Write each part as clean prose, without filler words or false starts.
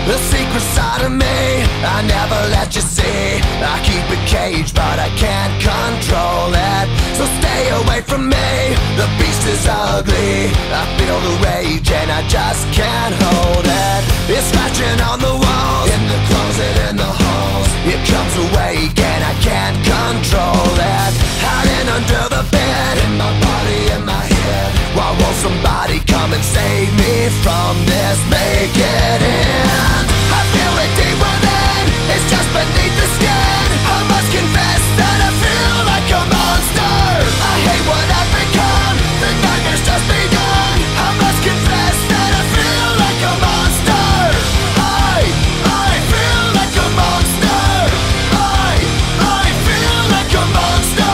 The secret side of me, I never let you see. I keep it caged, but I can't control it. So stay away from me, the beast is ugly. I feel the rage and I just can't hold it. It's scratching on the walls, in the closet, in the halls. It comes awake and I can't control it. Hiding under the bed, in my body, in my head. Why won't somebody come and save me from this? Make it end. I feel it deep within, it's just beneath the skin. I must confess that I feel like a monster. I hate what I've become, the nightmare's just begun. I must confess that I feel like a monster. I feel like a monster. I feel like a monster.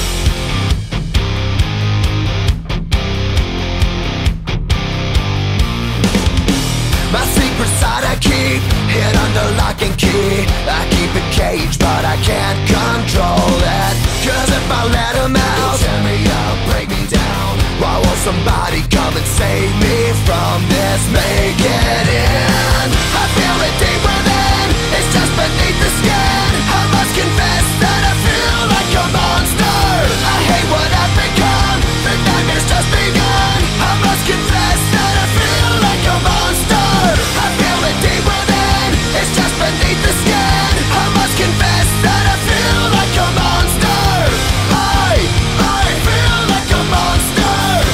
My secret side I keep hid under lock and key. I keep it caged, but I can't control it. Cause if I let him out, he'll tear me up, break me down. Why won't somebody come and save me from this? Make it end. I feel it deep within, it's just beneath the skin. I must confess that I feel like a monster. I hate what I've become, the nightmare's just begun. I must confess that I feel like a monster. I feel it deep within, it's just beneath the skin. I must confess that I feel like a monster. I feel like a monster.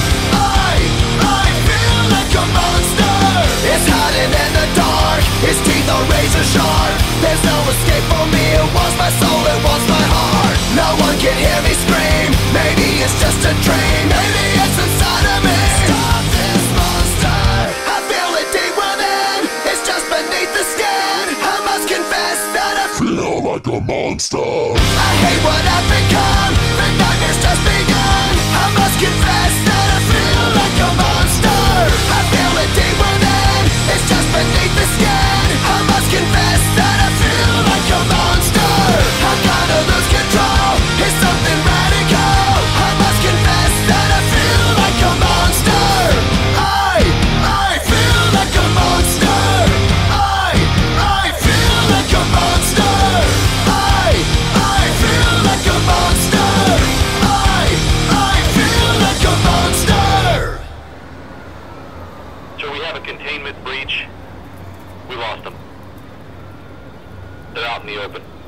I feel like a monster. It's hiding in the dark, its teeth are razor sharp. There's no escape for me, it wants my soul, it wants my heart. No one can hear me scream, maybe it's just a dream. Maybe it's inside of me. Stop this monster. I feel it deep within, it's just beneath the skin. I must confess that I feel like a monster. I hate what I've become, the nightmare's just begun. I must confess that I feel like a monster. I feel it deep within, it's just beneath the skin. I must confess that I feel like a monster. I'm gonna lose control, it's something radical. I must confess that I feel like a monster. I feel like a monster. I feel like a monster. I feel like a monster. I feel like a monster. So we have a containment breach. We lost them. They're out in the open.